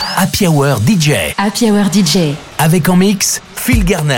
Happy Hour DJ. Happy Hour DJ. Avec en mix, Phil Garner.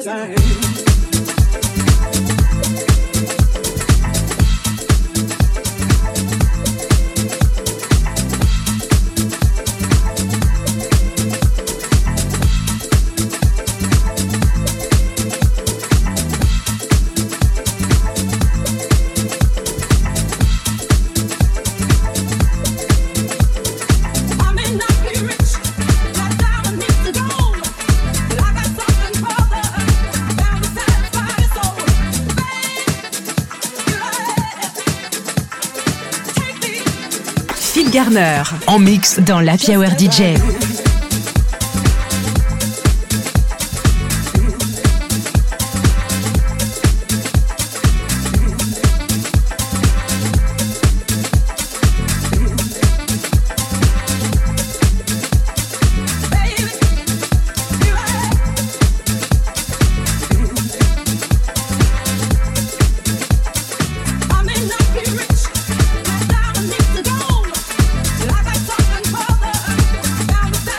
same. Phil Garner en mix dans l'Happy Hour DJ. Down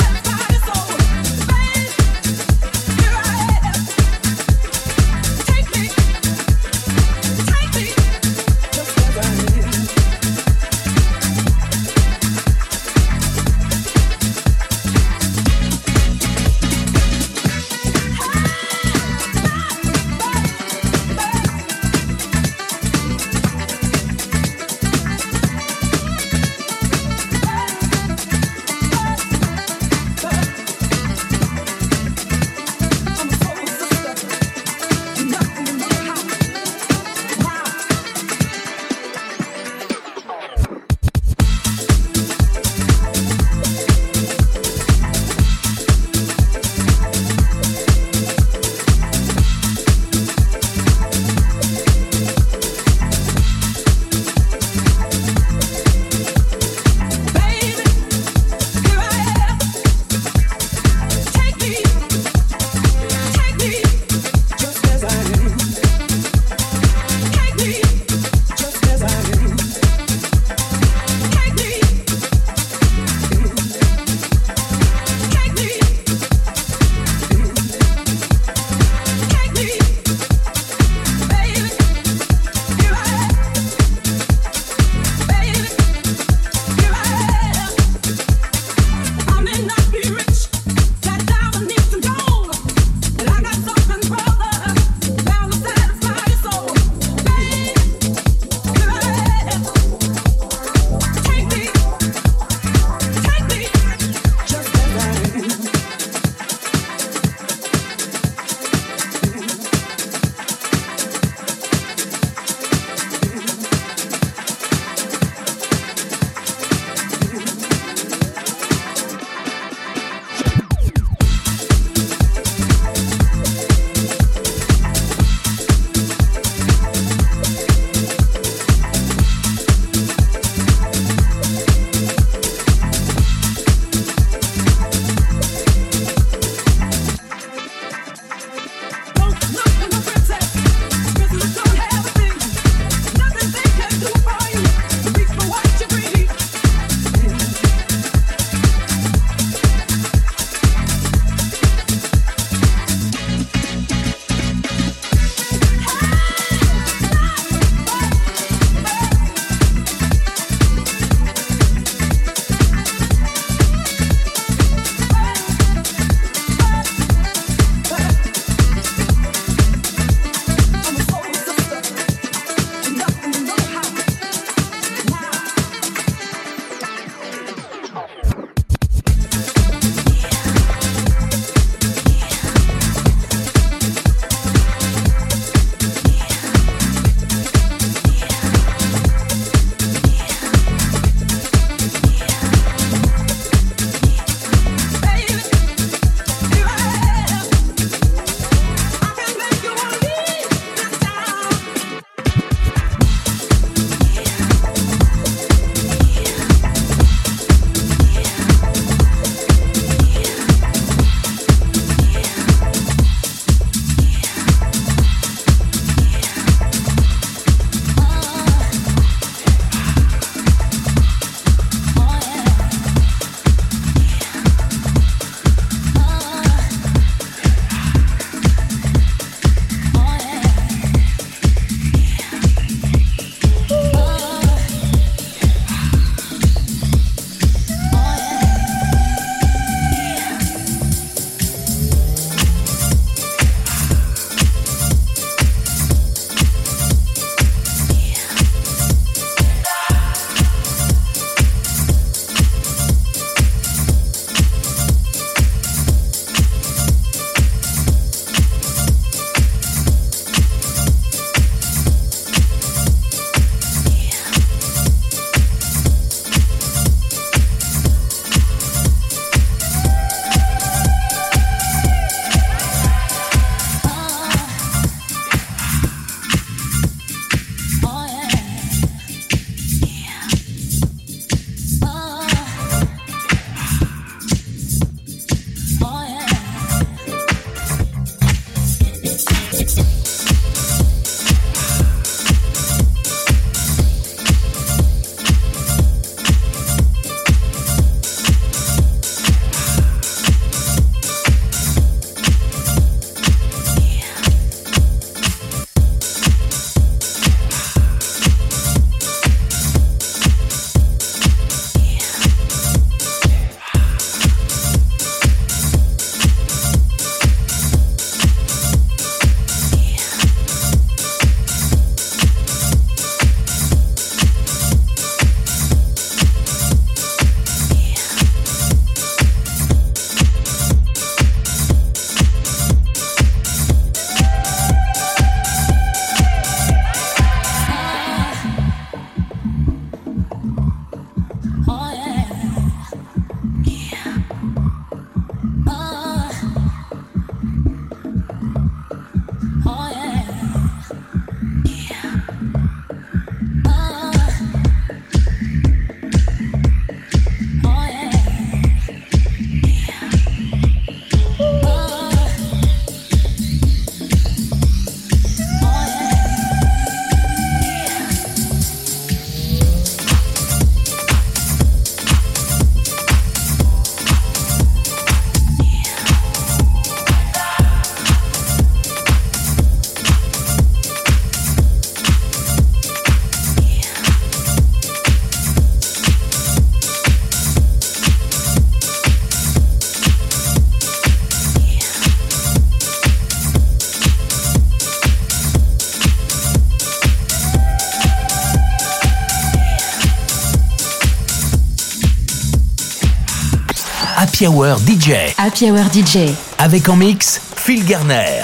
Happy Hour DJ. Happy Hour DJ. Avec en mix, Phil Garner.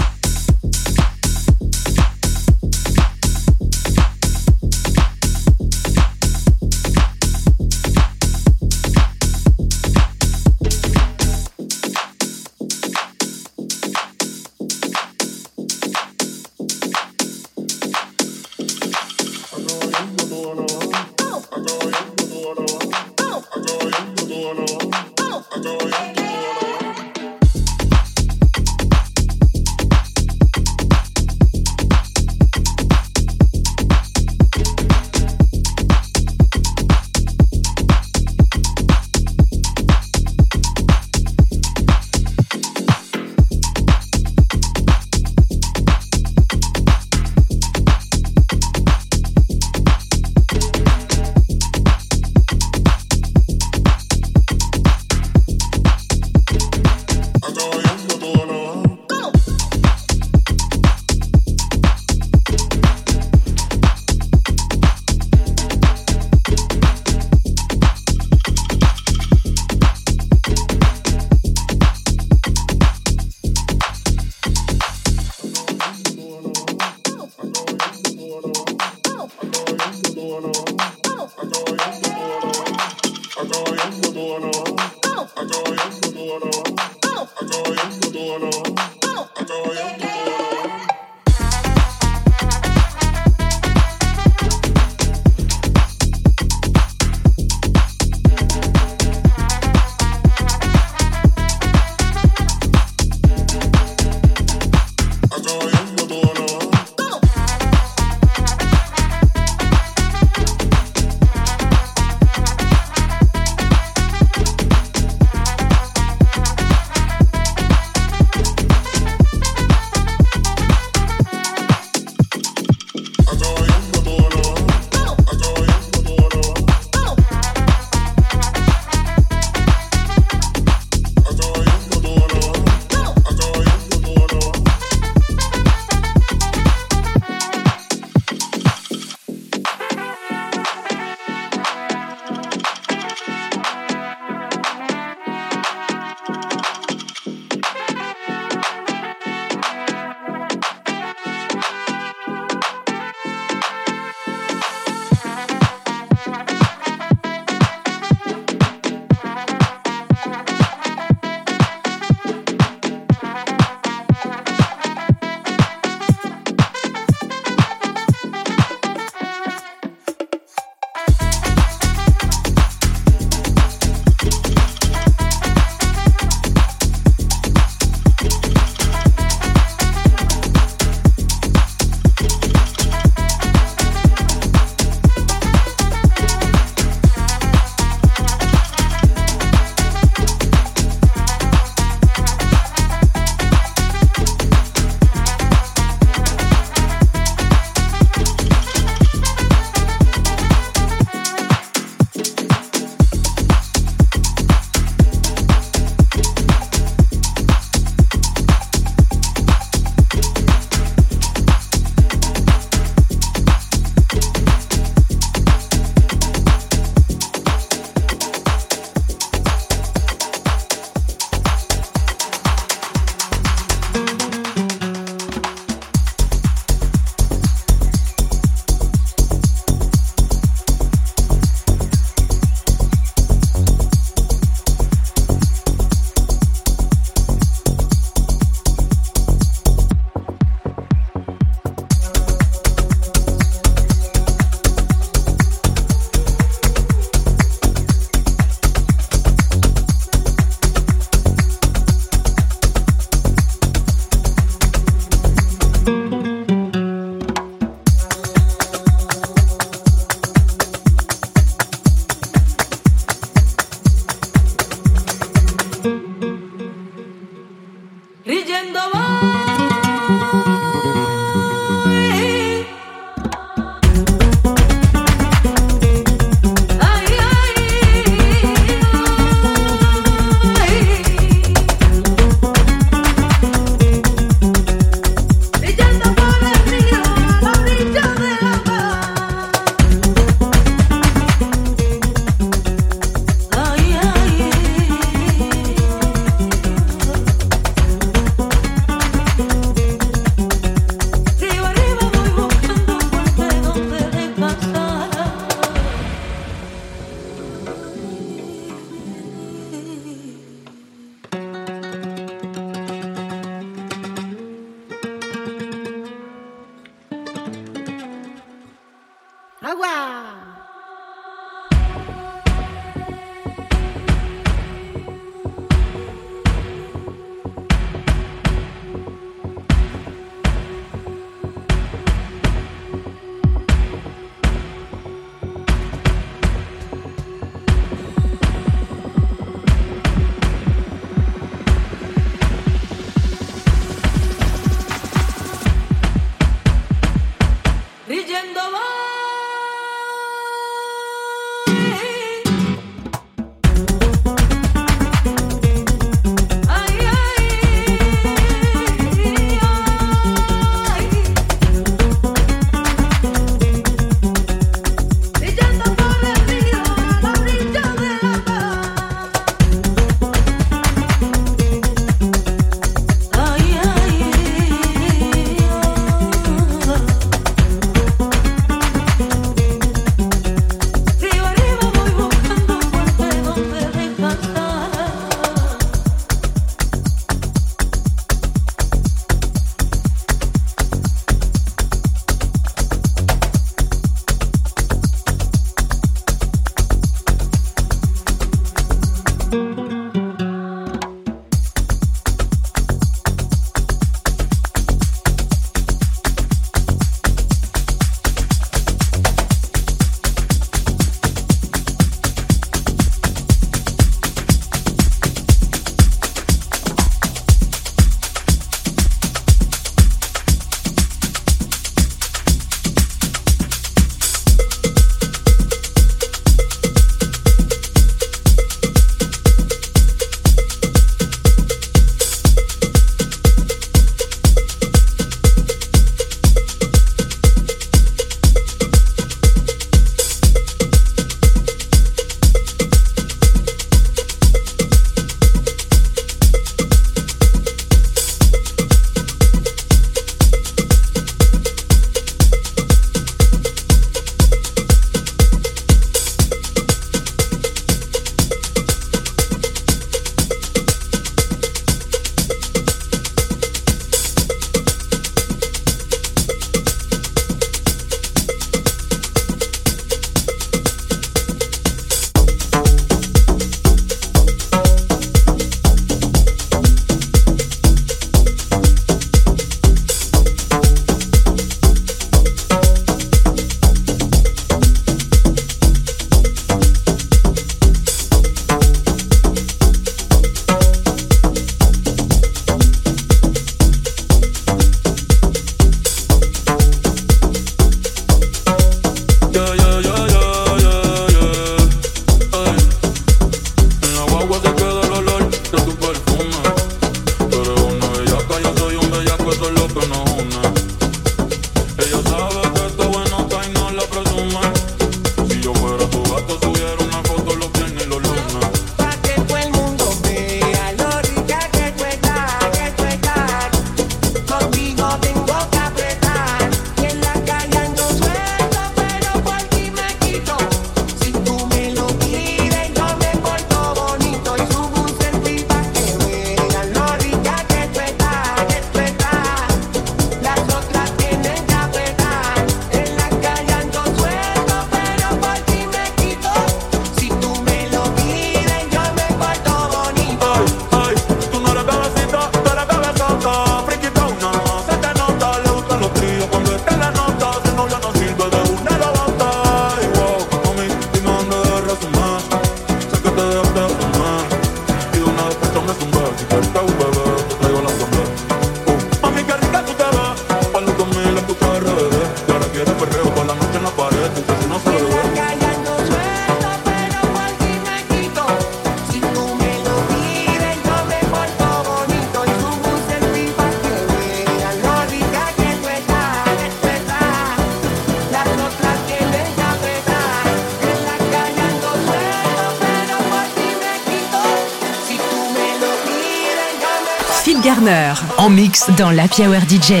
Phil Garner. En mix Dans l'Happy Hour DJ.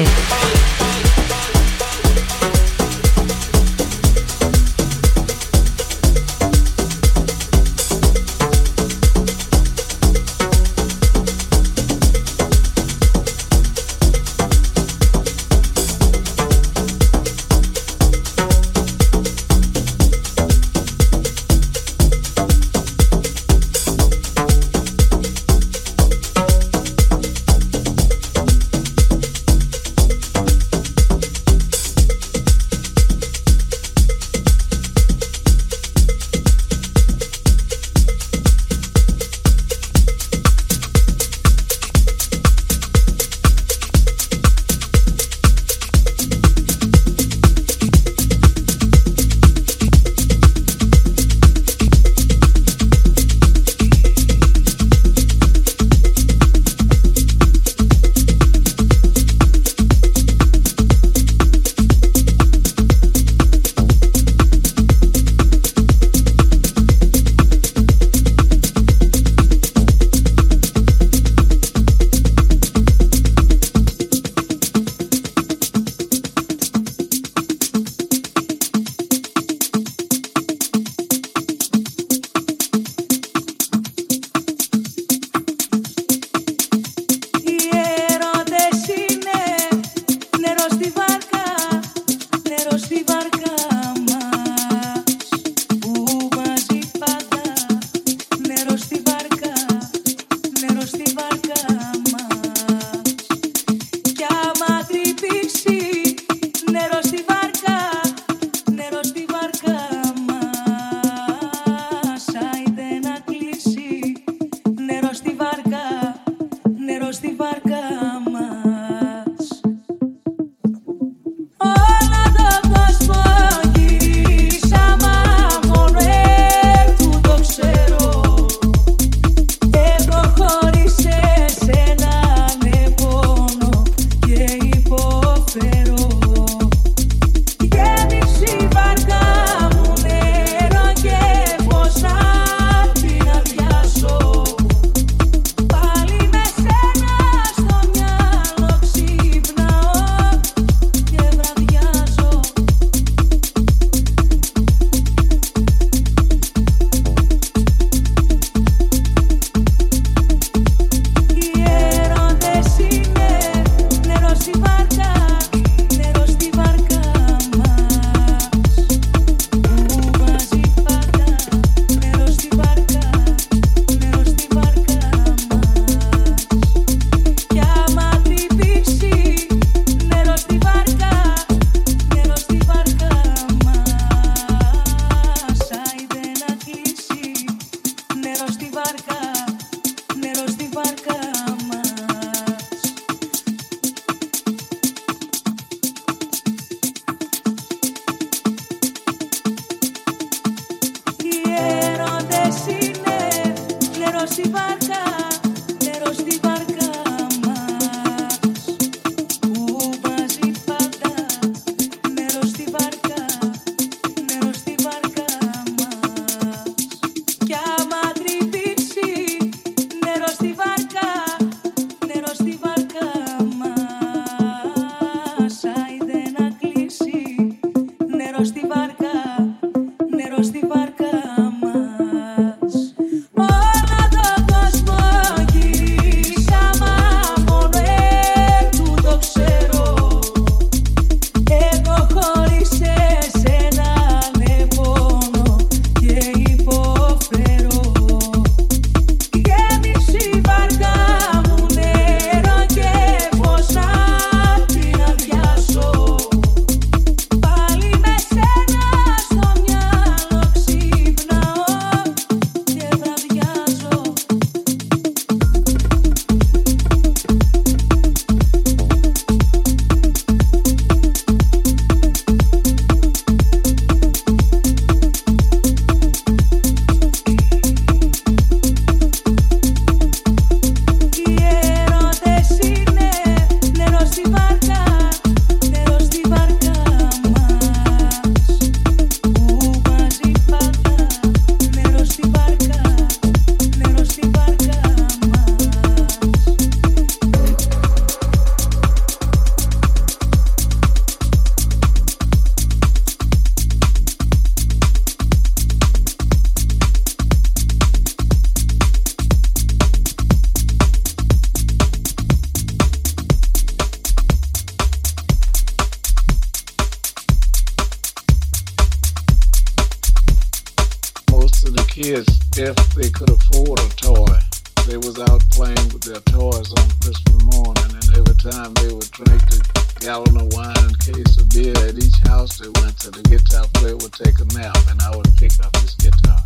they could afford a toy. They was out playing with their toys on Christmas morning, and every time they would drink a gallon of wine and case of beer at each house they went to, the guitar player would take a nap, and I would pick up his guitar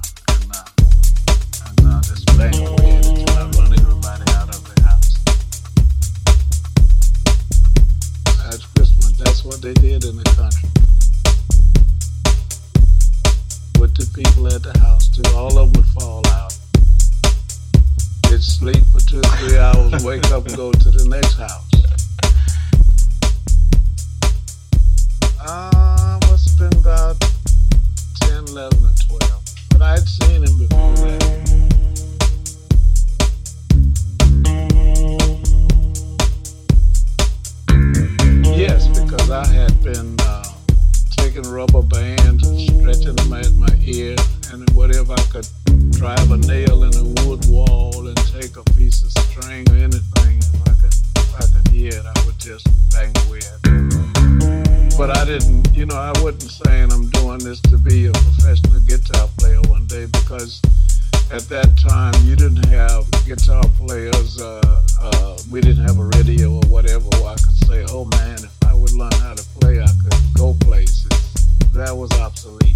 and just bang away at it until I run everybody out of the house. At Christmas, that's what they did in the country. With the people at the house too, all of them would fall out. They'd sleep for 2 or 3 hours, wake up and go to the next house. Must have been about 10, 11, or 12. But I'd seen him before that. Yes, because I had been taking rubber bands and stretching them at my ear, and whatever I could drive a nail in a wood wall and take a piece of string or anything, if I could hear it, I would just bang away at it. But I didn't, I wasn't saying I'm doing this to be a professional guitar player one day, because at that time you didn't have guitar players, we didn't have a radio or whatever where I could say, oh man, if I would learn how to play, I could go places. That was obsolete.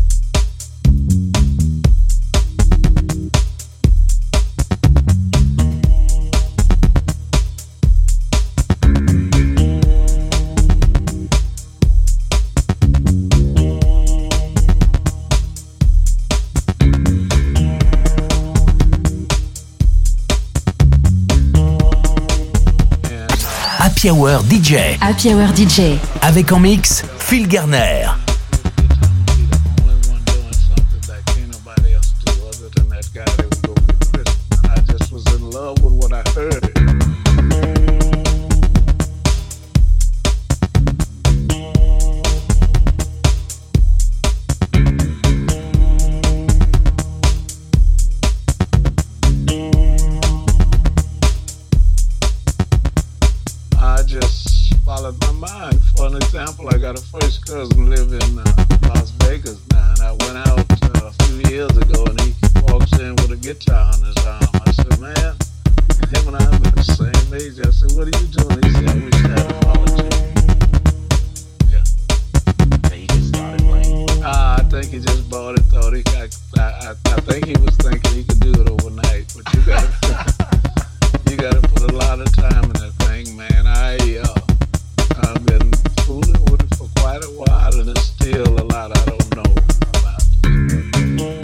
Happy Hour DJ. Happy Hour DJ. Avec en mix, Phil Garner. I got a first cousin live in Las Vegas now, and I went out a few years ago, and he walks in with a guitar on his arm. I said, man, him and I are the same age. I said, what are you doing? He said, I wish I had a politics. Yeah. He just started playing. I think he just bought it, thought he got, I think he was thinking he could do it overnight, but you gotta put a lot of time in that thing, man. I've been fooling with it for quite a while, and there's still a lot I don't know about it.